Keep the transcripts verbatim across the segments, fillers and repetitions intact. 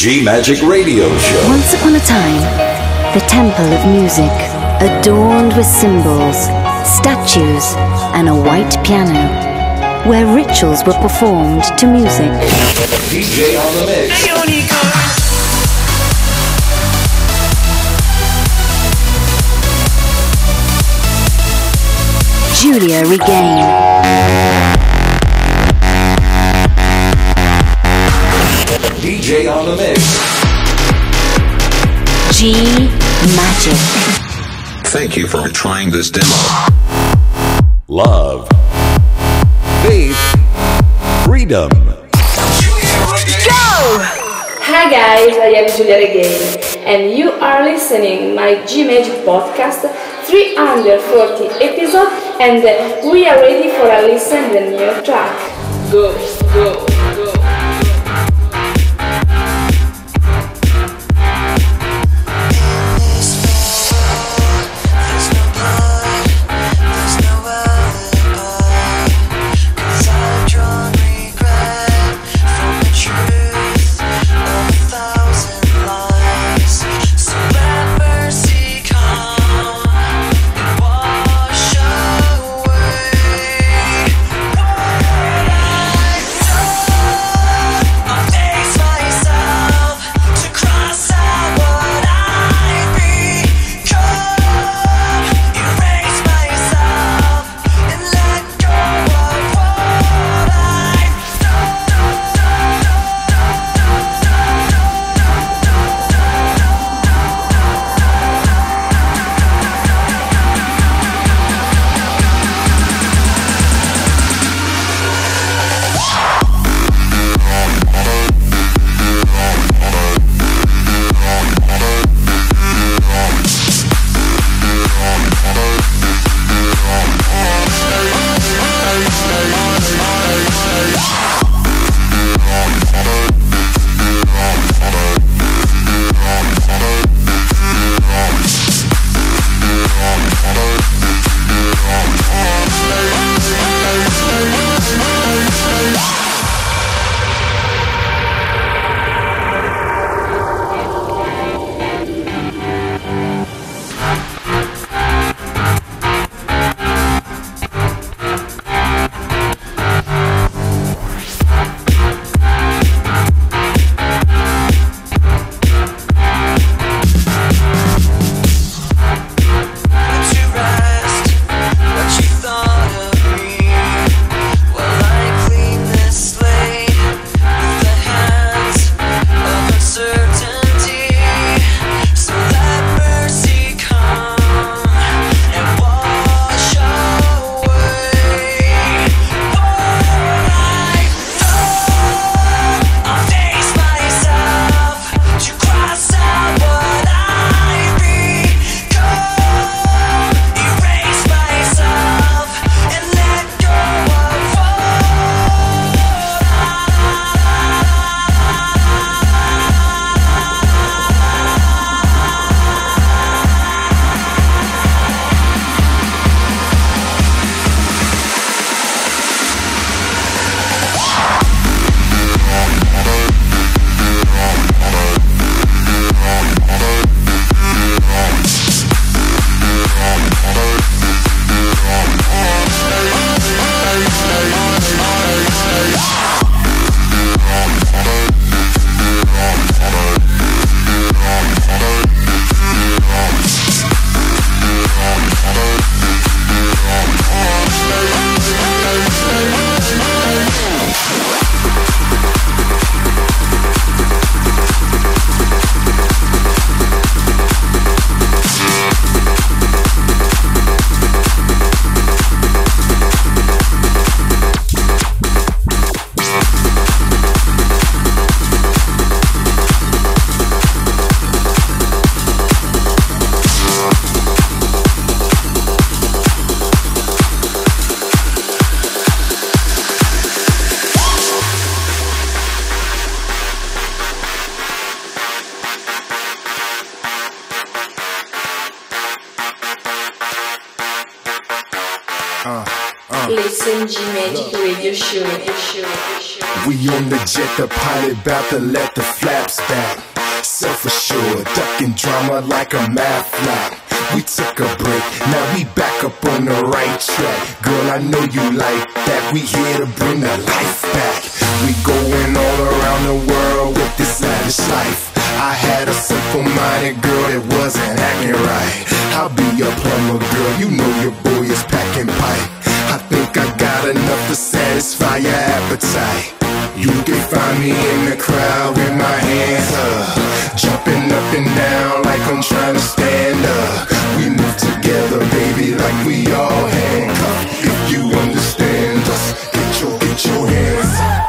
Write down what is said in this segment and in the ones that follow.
G-Magic Radio Show. Once upon a time, the temple of music, adorned with symbols, statues, and a white piano, where rituals were performed to music. D J on the mix. Giulia Regain. D J on the mix. G-Magic. Thank you for trying this demo. Love. Faith. Freedom. Go! Hi guys, I am Giulia Regain and you are listening my G-Magic podcast, three hundred forty episode, and we are ready for a listen to the new track. Go, go, go. Away. in G Magic Radio Show. Show, show. We on the jet, the pilot bout to let the flaps back. Self-assured, ducking drama like a math flap. We took a break, now we back up on the right track. Girl, I know you like that, we here to bring the life back. We going all around the world with this lavish life. I had a simple-minded girl that wasn't acting right. I'll be your plumber, girl, you know your boy is packing pipe. I think I got enough to satisfy your appetite. You can find me in the crowd with my hands up, jumping up and down like I'm trying to stand up. We move together, baby, like we all handcuffed. If you understand us, get your, get your hands up.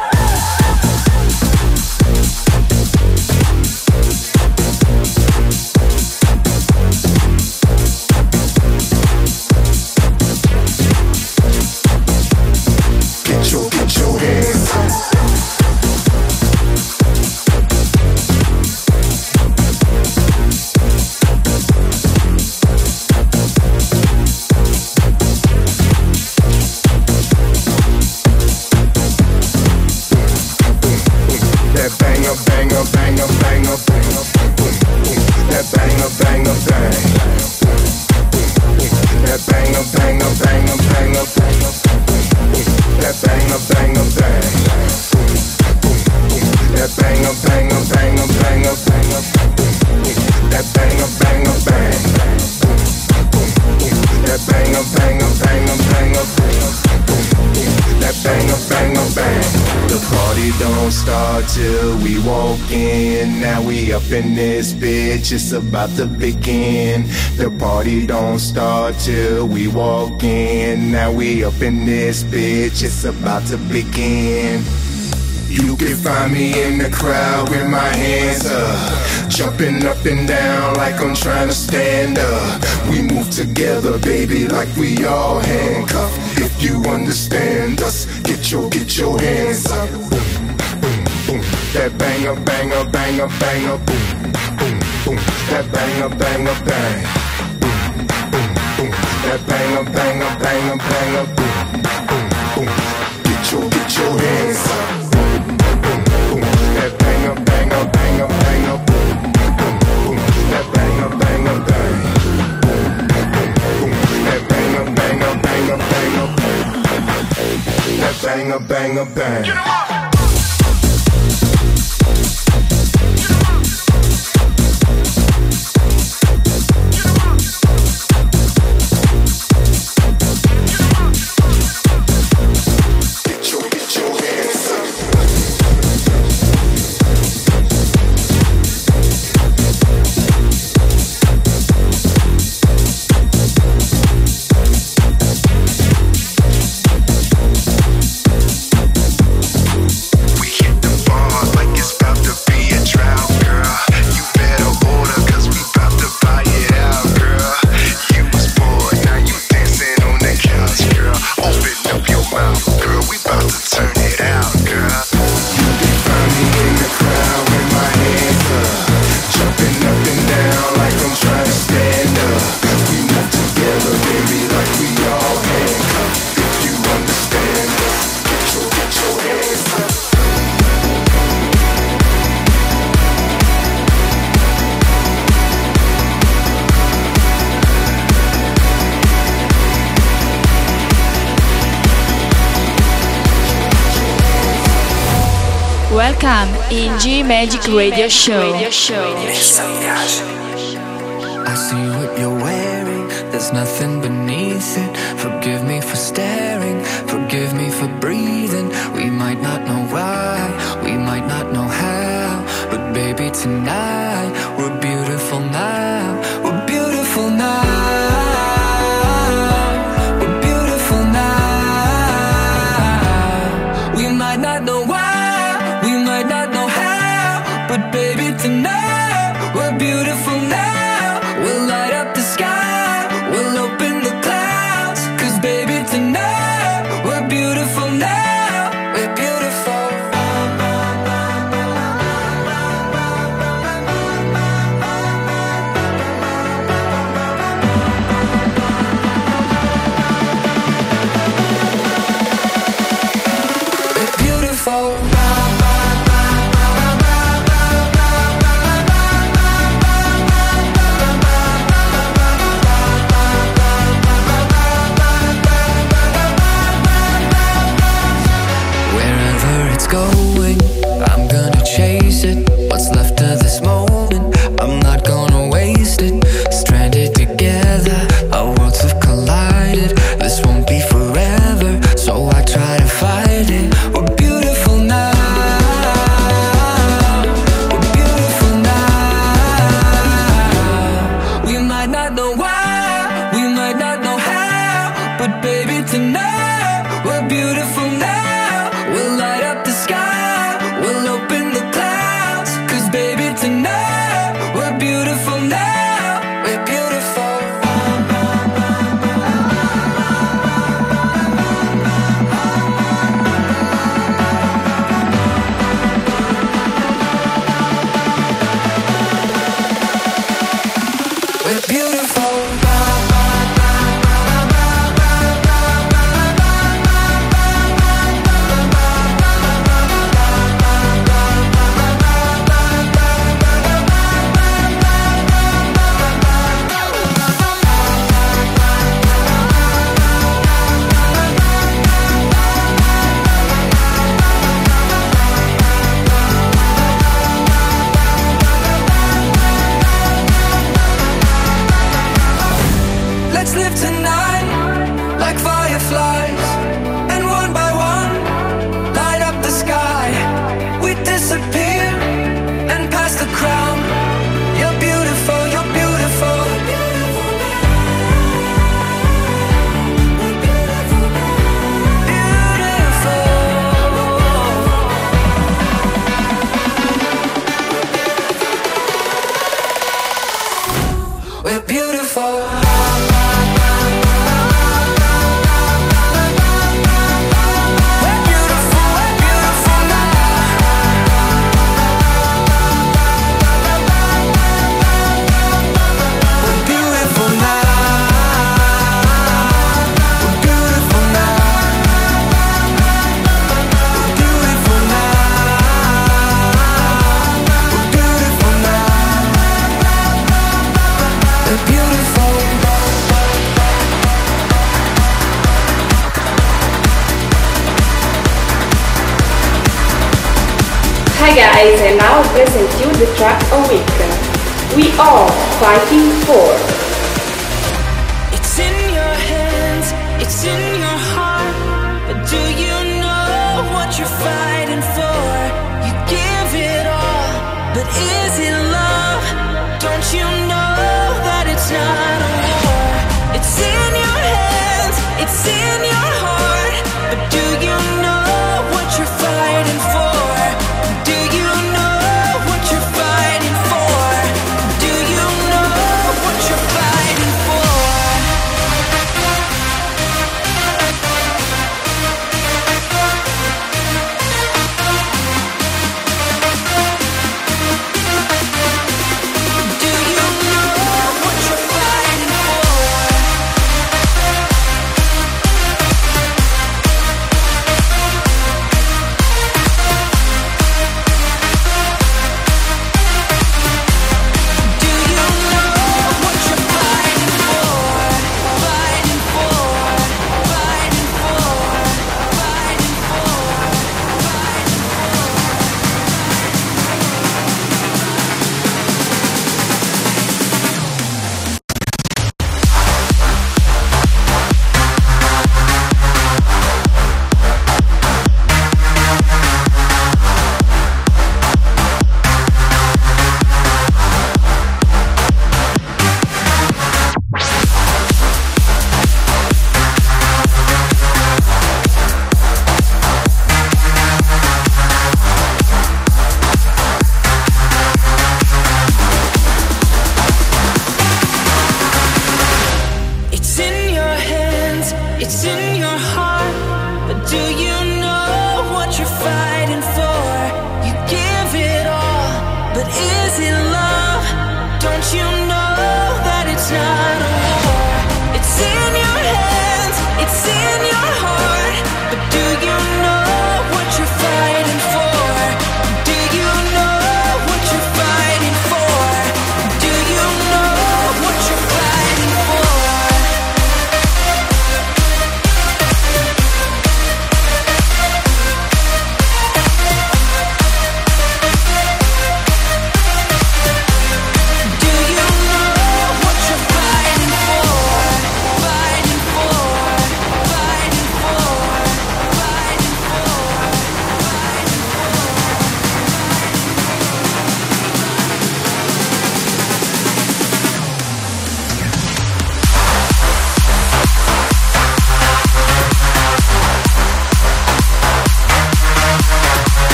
In this bitch, it's about to begin. The party don't start till we walk in. Now we up in this bitch, it's about to begin. You can find me in the crowd with my hands up, jumping up and down like I'm trying to stand up. We move together, baby, like we all handcuffed. If you understand us, get your, get your hands up. That banger, banger, banger, banger, boom, boom, boom. That banger, banger, bang, boom, boom, boom. That banger, banger, banger, banger, boom, boom, boom. Get your, get your hands up, boom, boom, boom. That banger, banger, banger, banger, boom, boom, boom. That banger, banger, bang, boom, boom, boom. That banger, banger, banger, banger, boom. That banger, banger, bang. Welcome in G Magic Radio Show. I see what you're wearing, there's nothing beneath it. Forgive me for staring, forgive me for breathing. We might not know why, we might not know how, but baby tonight, we're beautiful now, we're beautiful now. beautiful. Wherever it's going, I'm gonna chase it. What's left of this moment, I'm not gonna waste it. Stranded together, our worlds have collided. This won't be forever, so I try to fight it. We're beautiful now. We're beautiful now. We might not know why, we might not know how, but baby tonight, we're beautiful now. We'll light up the sky, we'll open the clouds. Cause baby tonight, we're beautiful now. We're beautiful. We're beautiful. Let's live tonight like fireflies, and one by one light up the sky. We disappear and pass the crown. You're beautiful, you're beautiful. Beautiful. We're beautiful. Hi guys, and now I present you the track a week. We are fighting for. It's in your hands, it's in your heart, but do you know what you're fighting for? You give it all, but is it love? Don't you know that it's not a war? It's in your hands, it's in your heart, but do you know what you're fighting for? Do you know what you're fighting for? Do you know what you're fighting for? Do you know what you're fighting for? Do you know what you're fighting for? Fighting for, fighting for, fighting It's in your hands, it's in your heart, but do you know what you're fighting for? You give it all, but is it love? Don't you know that it's not a war? It's in your hands, it's in your heart, but do you know what you're fighting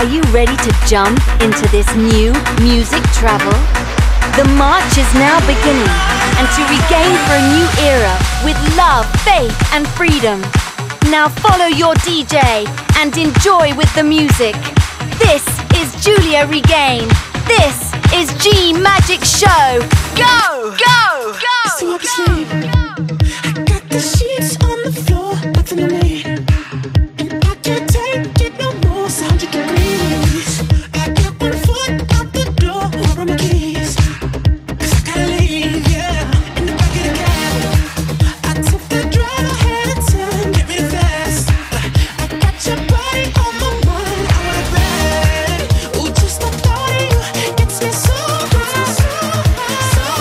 Are you ready to jump into this new music travel? The march is now beginning, and to regain for a new era with love, faith and freedom. Now follow your D J and enjoy with the music. This is Giulia Regain. This is G Magic Show. Go! Go! Go! So up asleep. I got the sheets on the floor, nothing to me. And I can't take it no more. It's one hundred degrees. I got one foot out the door. Where are my keys? 'Cause I gotta leave, yeah. In the back of the cab. I took the drive ahead of time. Get me fast. I got your body on my mind. I wanna bed. Ooh, just the thought of you gets me so high, so high, so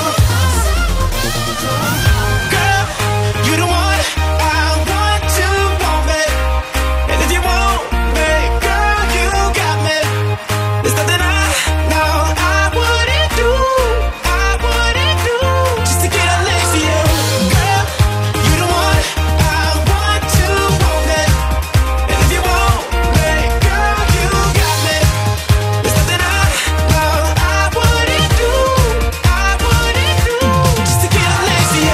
high. Girl, you the one I want to want me. And if you want me, girl, you got me. There's nothing I know I wouldn't do, I wouldn't do just to get up next to you. Girl, you the one I want to want me. And if you want me, girl, you got me. There's nothing I know I wouldn't do, I wouldn't do just to get up next to you.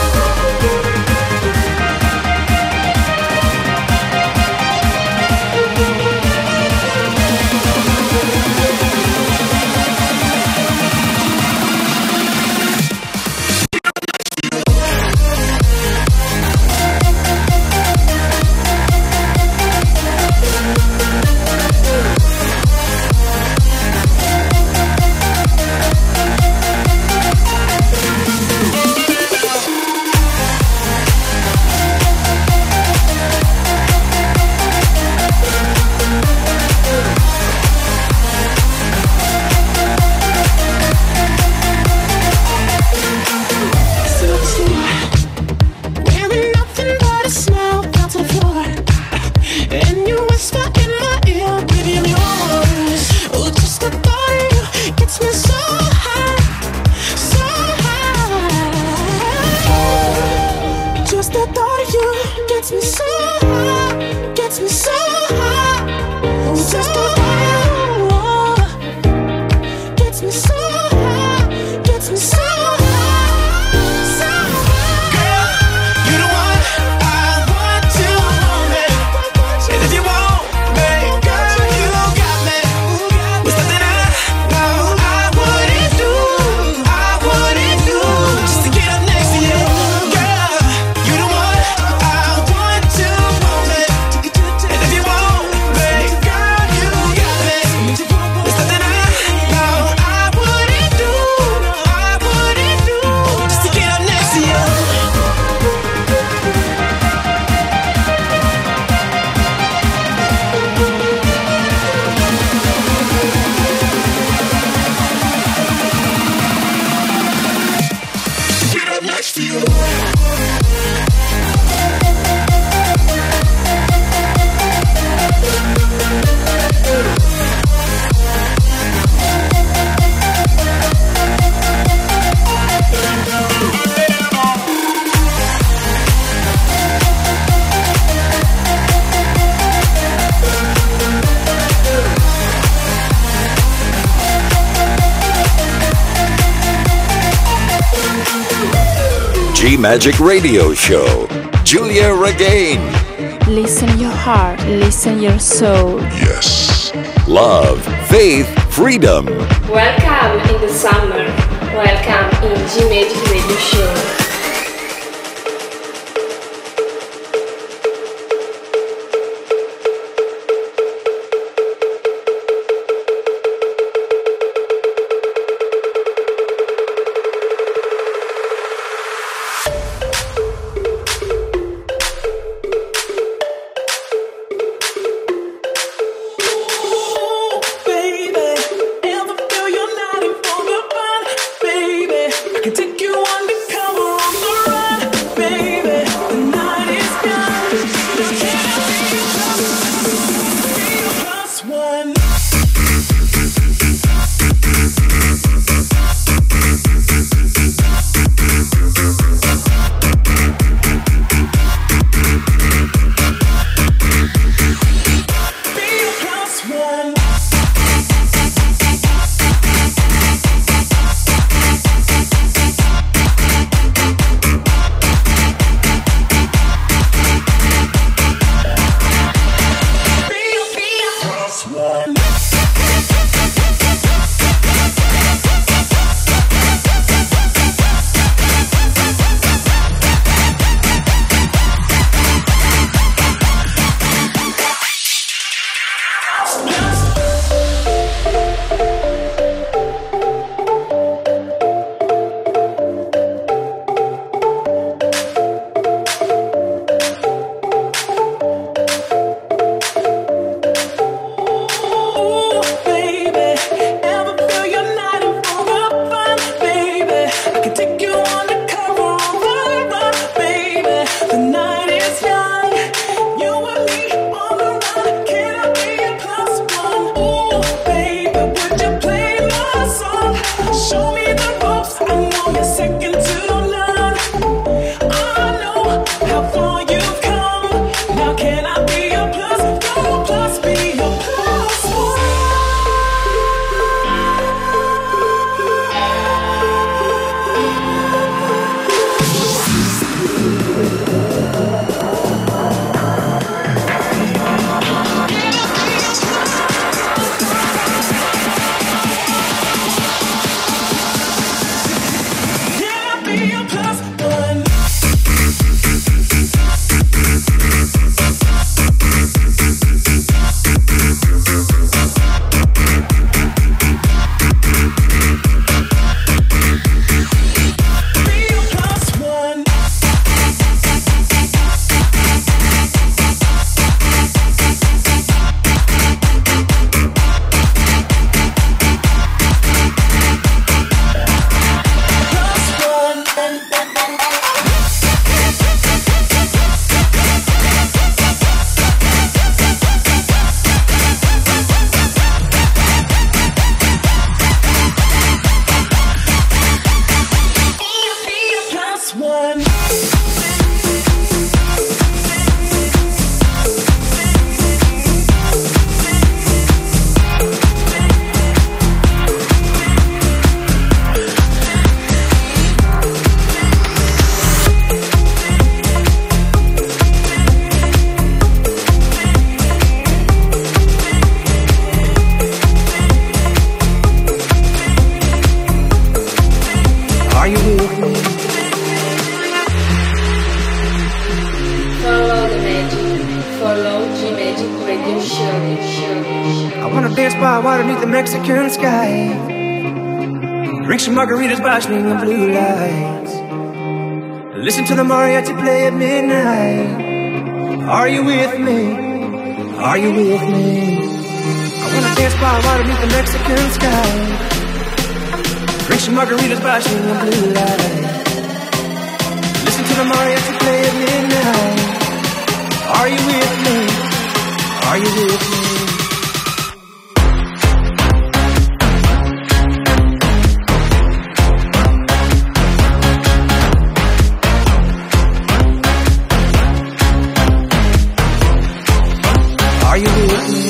Wearing nothing but a smile down to the floor. And you whisper in my ear, baby, I'm yours. Oh, just the thought of you gets me so high, so high. Just the thought of you gets me so high, gets me so high. Just the thought of you gets me so high, gets me so high, so high. Girl, you the one I want to want me. And if you want me, girl, you got me. There's nothing I know I wouldn't do, I wouldn't do just to get up next to you. Girl, you the one I want to want me. And if you want me, girl, you got me. There's nothing I know I wouldn't do, I wouldn't do just to get up next to you. Get up next to you. G Magic Radio Show. Giulia Regain. Listen your heart, listen your soul. Yes. Love, faith, freedom. Welcome in the summer. Welcome in G Magic Radio Show. Baby, ever feel you're not in for the fun? Baby, I can take you undercover. Mexican sky. Drink some margaritas by swinging blue lights. Listen to the mariachi play at midnight. Are you with me? Are you with me? I wanna dance by water beneath the Mexican sky. Drink some margaritas by swinging blue lights. Listen to the mariachi play at midnight. Are you with me? Are you with me? Are you with me?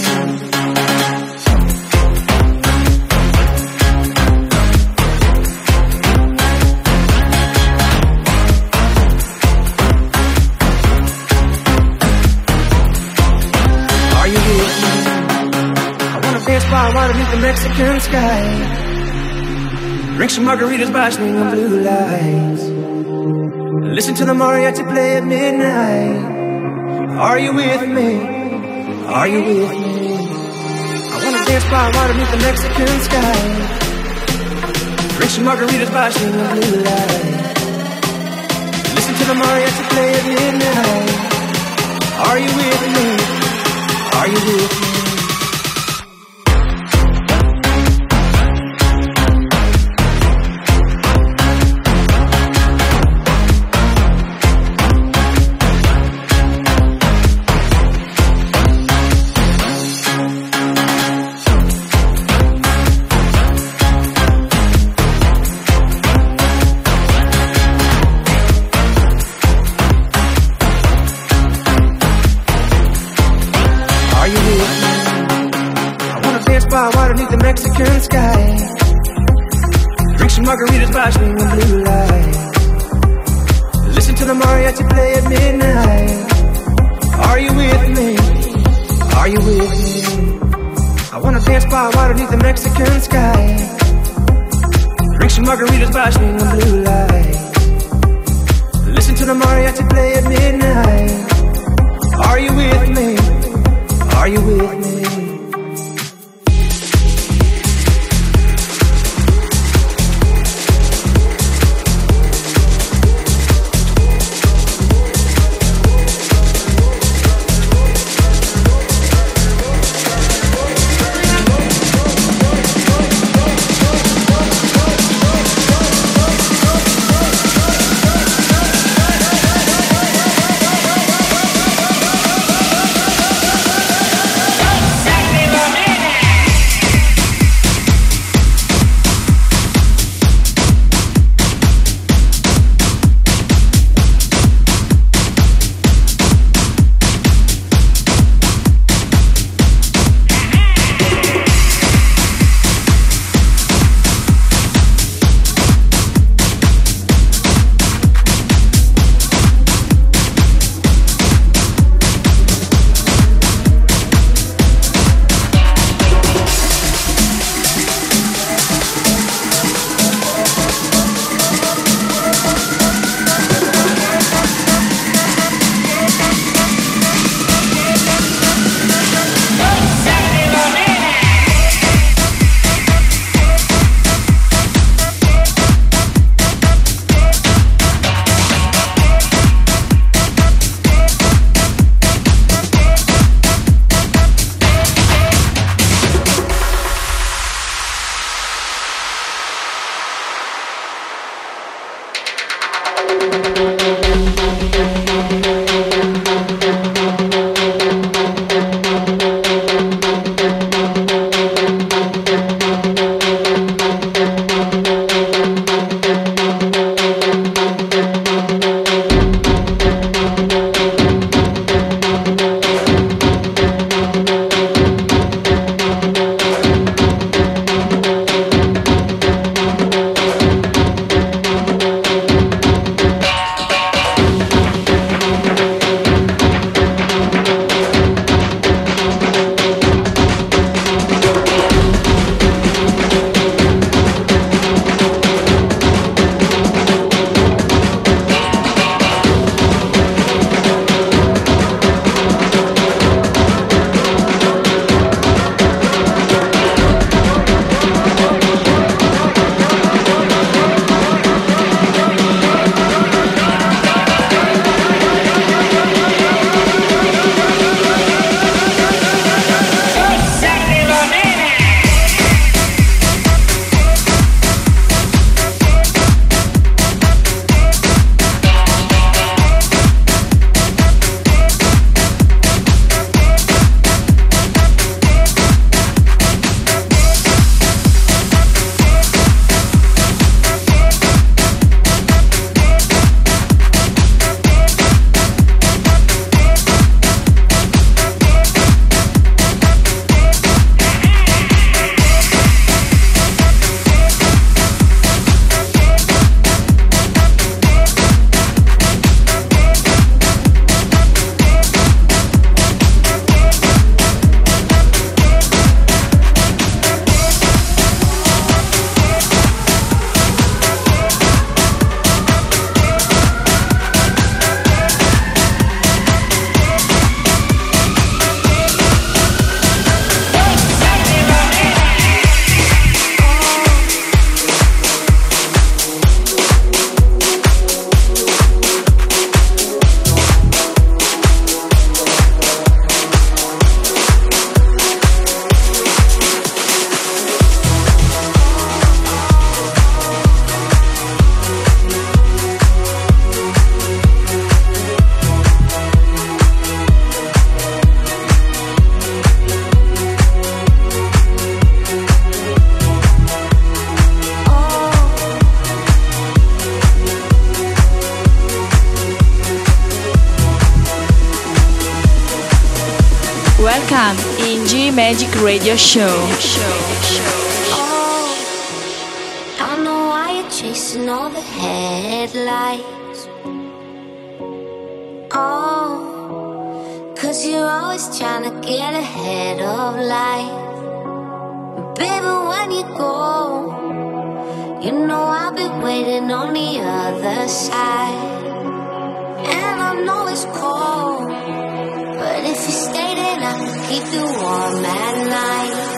Are you with me? I wanna dance by water beneath the Mexican sky. Drink some margaritas by swinging blue lights. Listen to the mariachi play at midnight. Are you with me? Are you with me? I wanna dance by water beneath the Mexican sky. Drink some margaritas by swinging blue light. Listen to the mariachi play at midnight. Are you with me? Are you with me? By water beneath the Mexican sky. Drink some margaritas by swinging blue light. Listen to the mariachi play at midnight. Are you with me? Are you with me? I wanna dance by water beneath the Mexican sky. Drink some margaritas by swinging blue light. Listen to the mariachi play at midnight. Are you with me? Are you with me? Welcome in G Magic Radio Show. Oh, I know why you're chasing all the headlights. Oh, cause you're always trying to get ahead of life. Baby, when you go, you know I'll be waiting on the other side. And I know it's cold, but if you stay then I can keep you warm at night.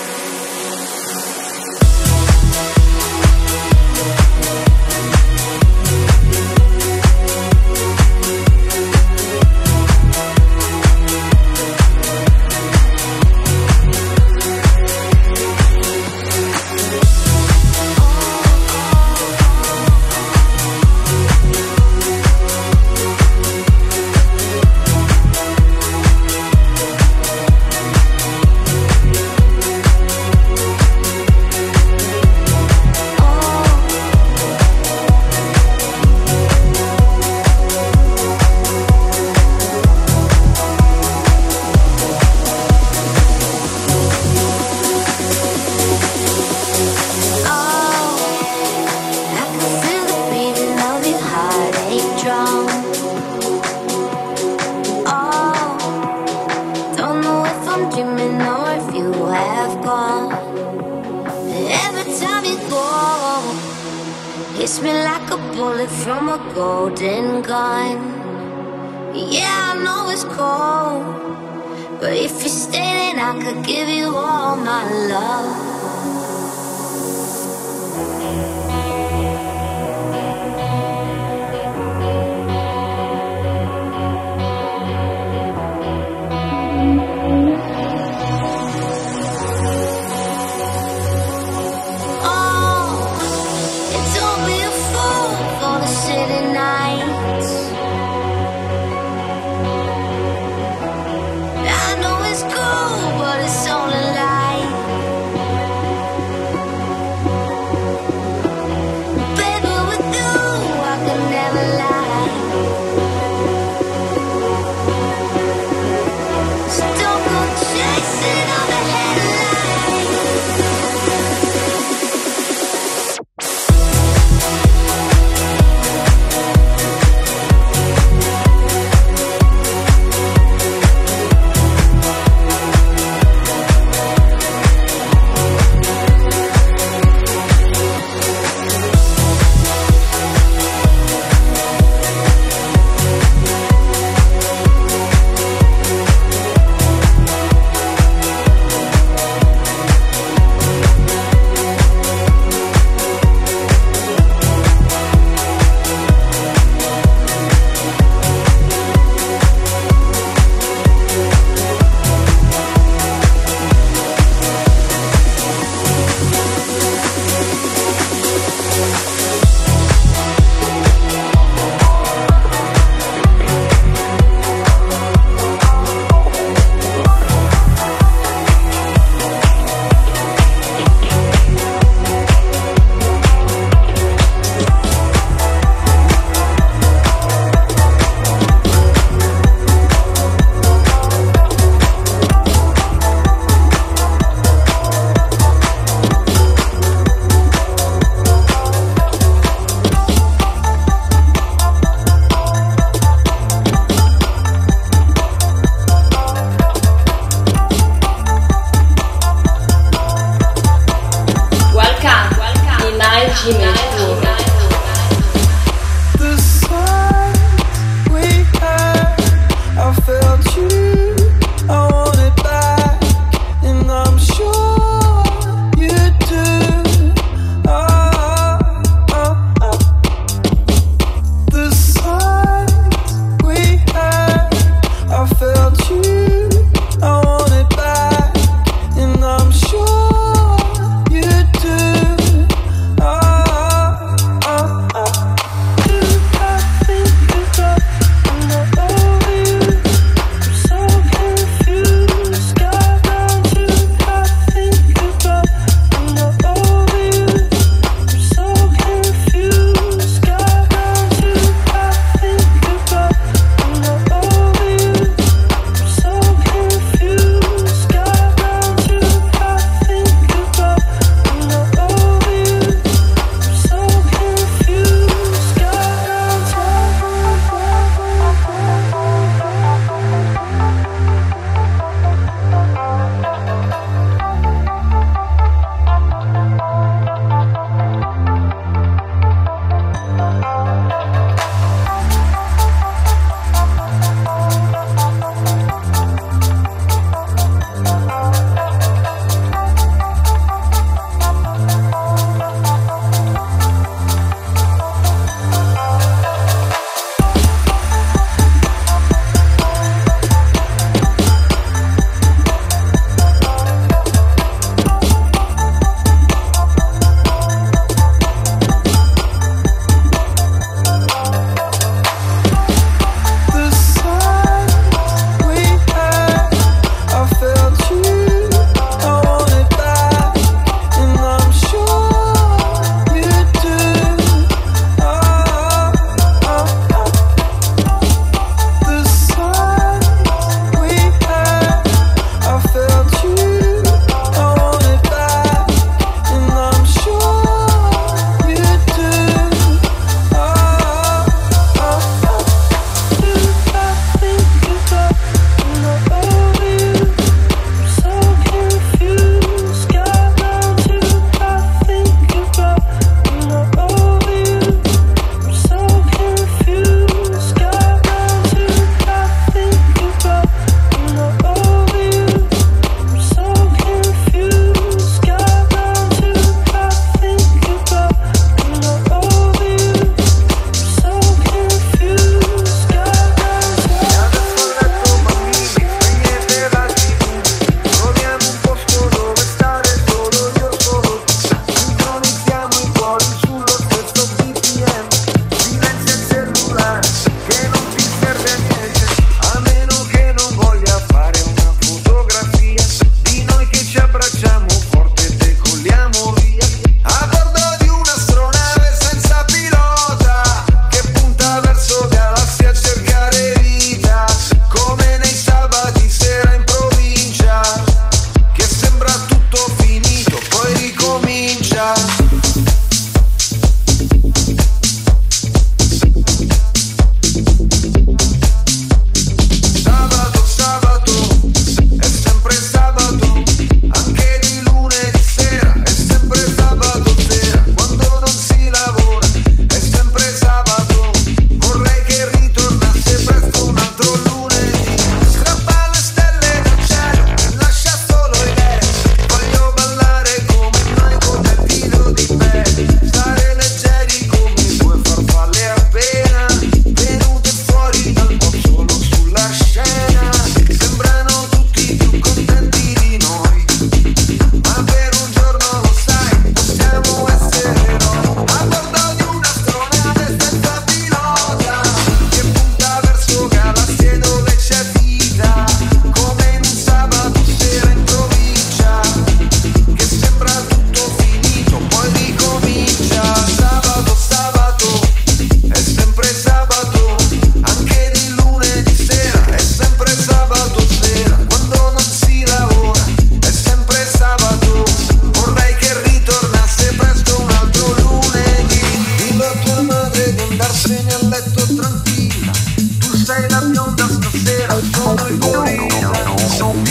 Hits me like a bullet from a golden gun. Yeah, I know it's cold, but if you stay then I could give you all my love.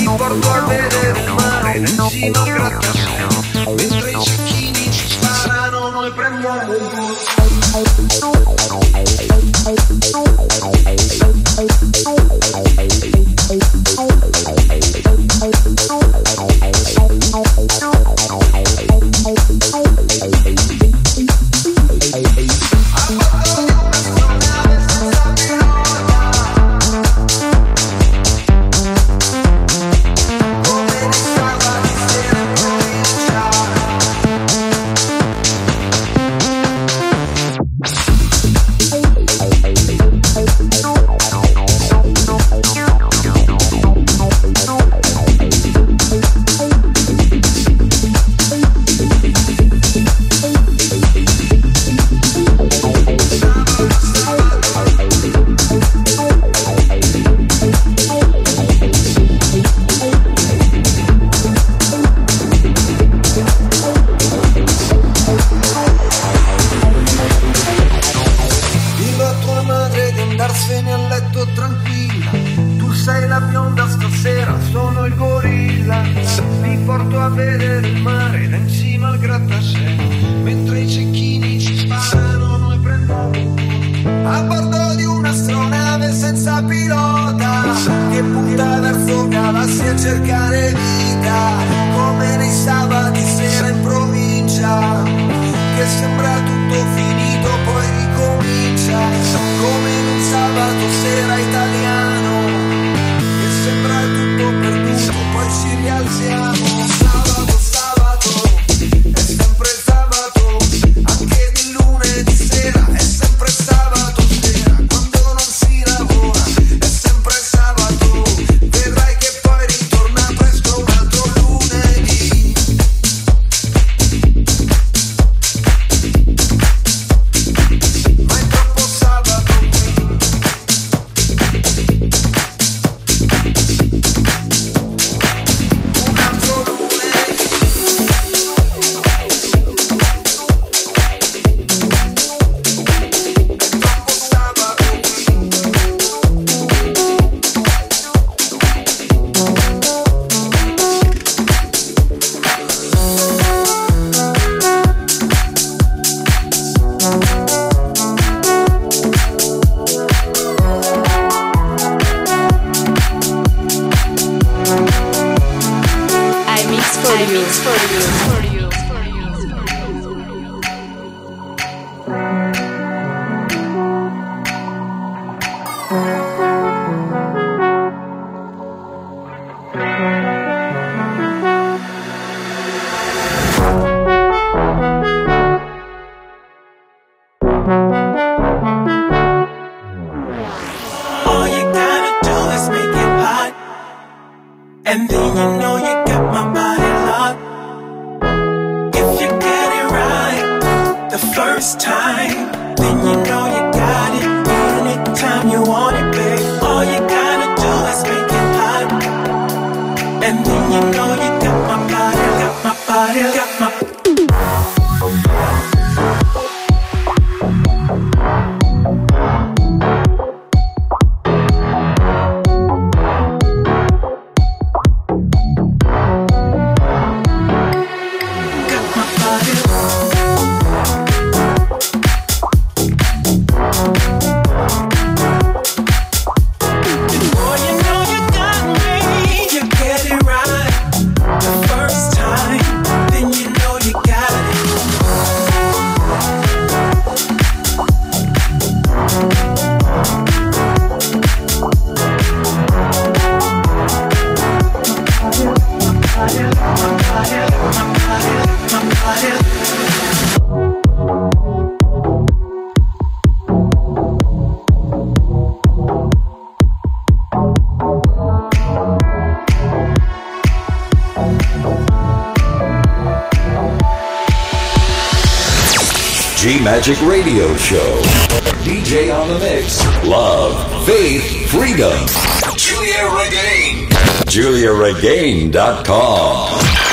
ti porto a vedere il mare in cima al grattacielo, mentre i cecchini ci sparano, noi prendiamo il volo. G-Magic Radio Show. D J on the mix. Love, faith, freedom. Giulia Regain. Giulia Regain dot com.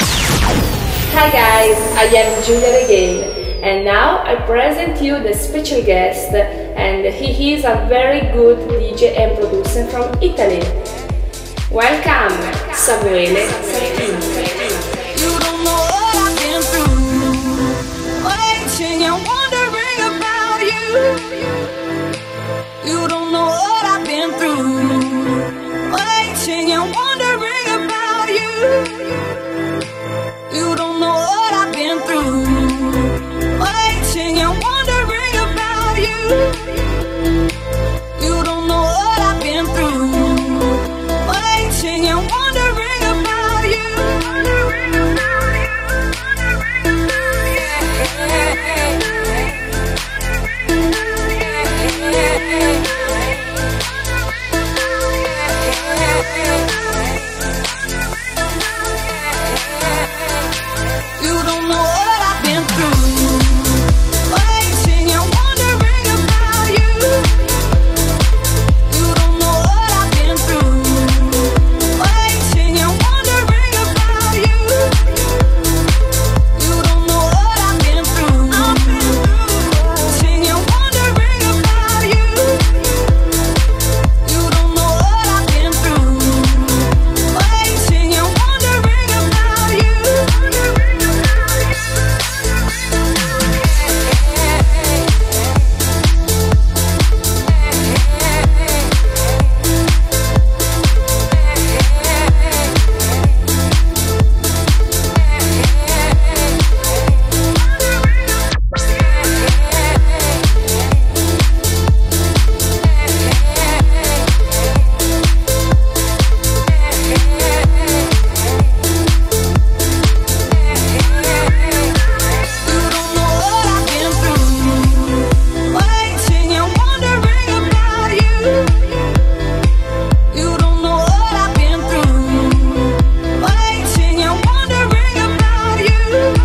Hi guys, I am Giulia Regain, and now I present you the special guest, and he is a very good D J and producer from Italy. Welcome, Samuele Sartini. You don't know what I've been through, waiting and wondering about you. You don't know what I've been through, waiting and wondering about you. You don't know what I've been through, waiting and wondering about you. You don't know what I've been through, waiting and wondering about you. You don't know what I've been through, waiting and wondering about you. You don't know what I've been through, waiting and wondering about you. You don't know what I've been through, waiting and wondering about you. You don't know what I've been through, waiting and wondering about you. You don't know what I've been through, waiting and wondering about you.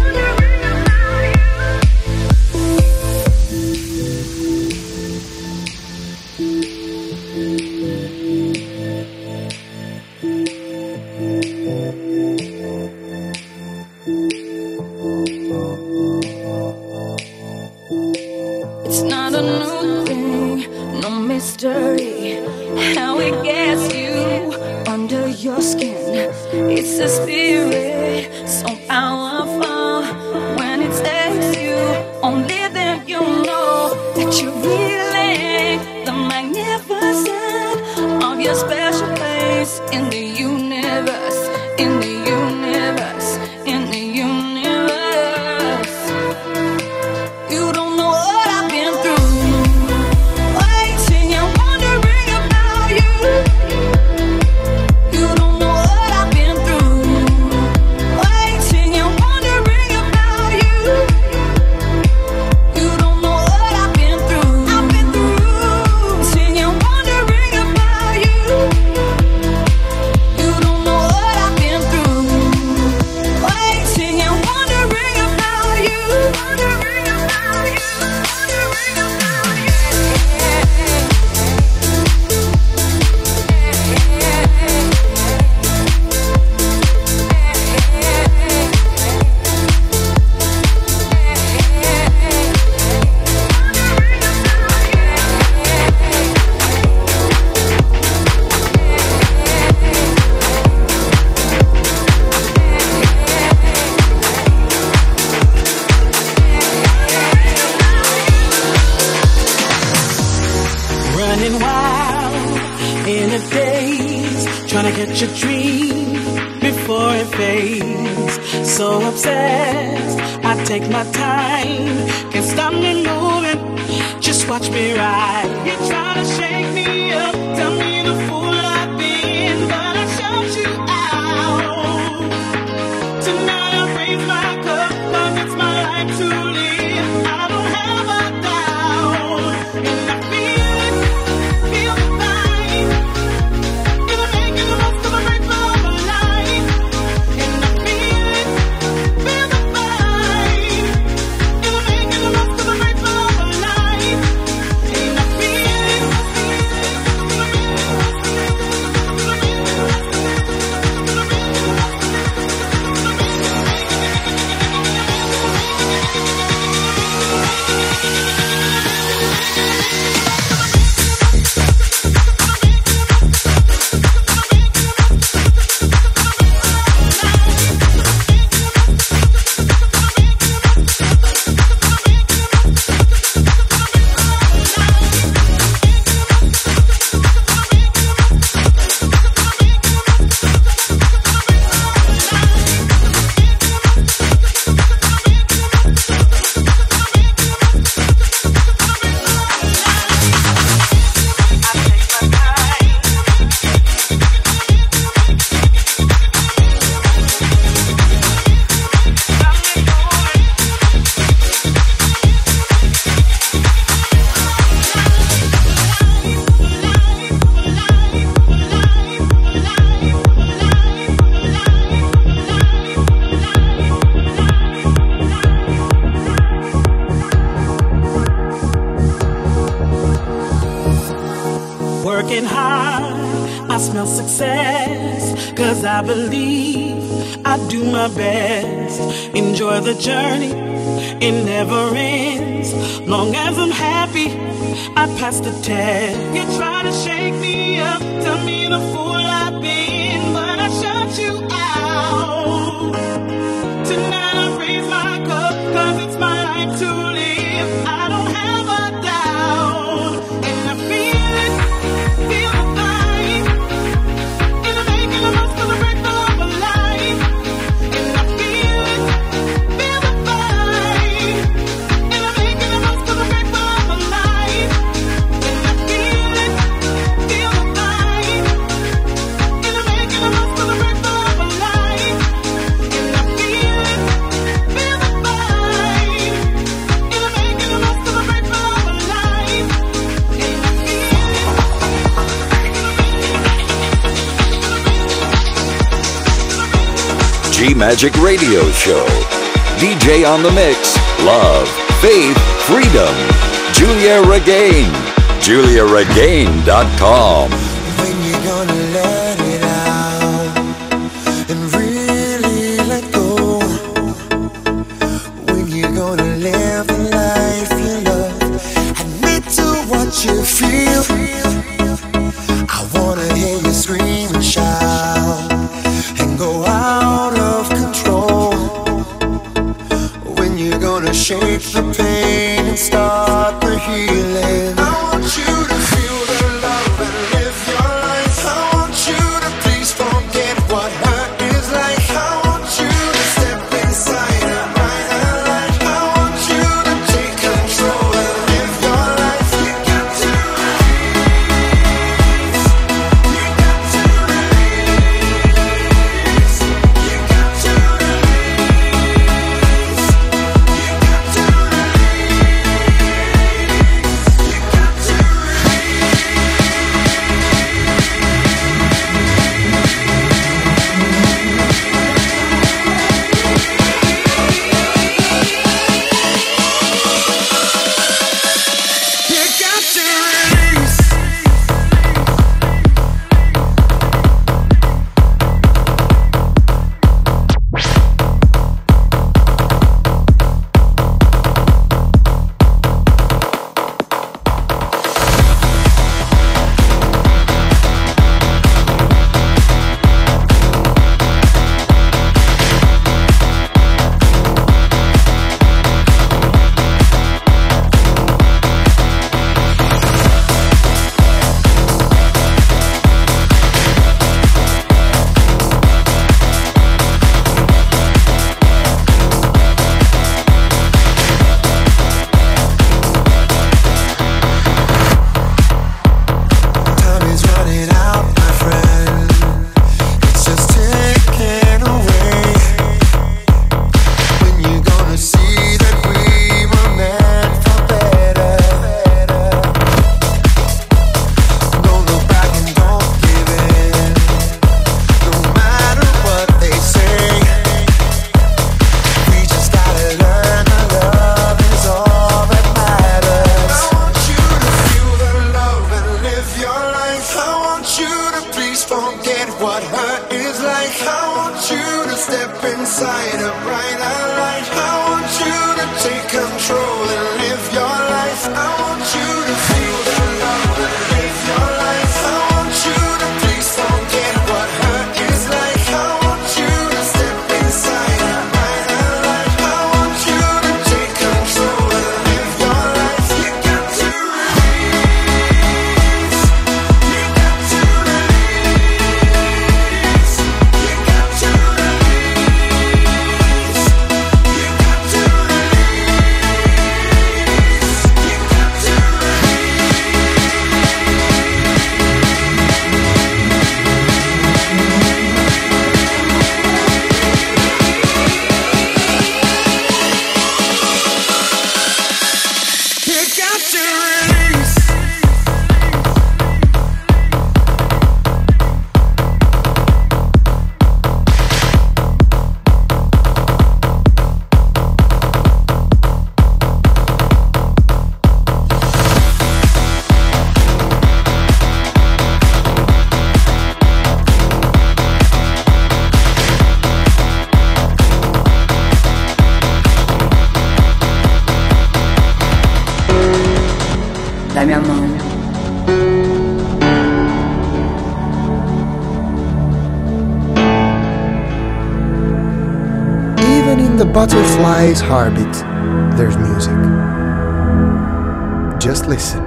It's not a new thing, no mystery, how it gets you under your skin. It's a spirit so powerful. When it takes you, only then you know that you're really the magnificent of your special place in the universe, in the universe, in the universe. You don't know what I've been through, waiting and wondering about you. You don't know what I've been through, waiting and wondering about you. You don't know what I've been through, I've been through, waiting and wondering about you. You don't know what I've been through, waiting and wondering about you. Running wild in a daze, trying to catch a dream before it fades. So obsessed, I take my time, can't stop me moving, just watch me ride. You try to shake me up, tell me the fool I've been, but I shut you out. Tonight I raise my cup, cause it's my life to live. I don't have a doubt, and I feel working hard, I smell success, cause I believe I do my best. Enjoy the journey, it never ends. Long as I'm happy, I pass the test. You try to shake me up, tell me the fool I've been, but I shut you out. Tonight I raise my cup, cause it's my life to live. I don't have a doubt, and I feel it, feel the vibe, and I'm making the most of the break of a life. And I feel it, feel the vibe, and I'm making the most of the break of a life. And I feel it, feel the vibe, and I'm making the most of the break of a life. And I feel it, feel the vibe, and I'm making the most of the break of a life. And I G-Magic Radio Show. D J on the mix. Love, faith, freedom. Julia Regain. Julia Regain dot com. When you gonna let it out and really let go? When you gonna live the life you love? Admit to what you feel. I wanna hear you scream and shout and go out of control. When you gonna shake the pain and start the healing? I want you to feel the love and live your life. I want you to please forget what hurt is like. I want you to step inside and bright and light. I want you to take control and live your life. You got to release. You got to release. You got to release. You got to release. the butterfly's heartbeat, there's music. Just listen.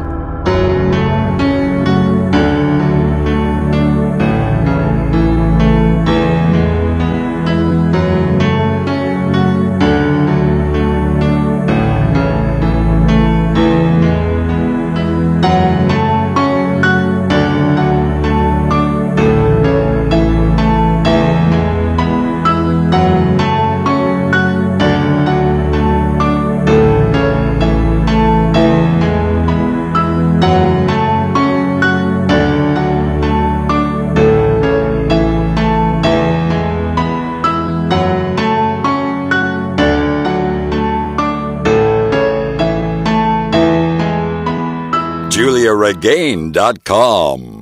Julia Regain dot com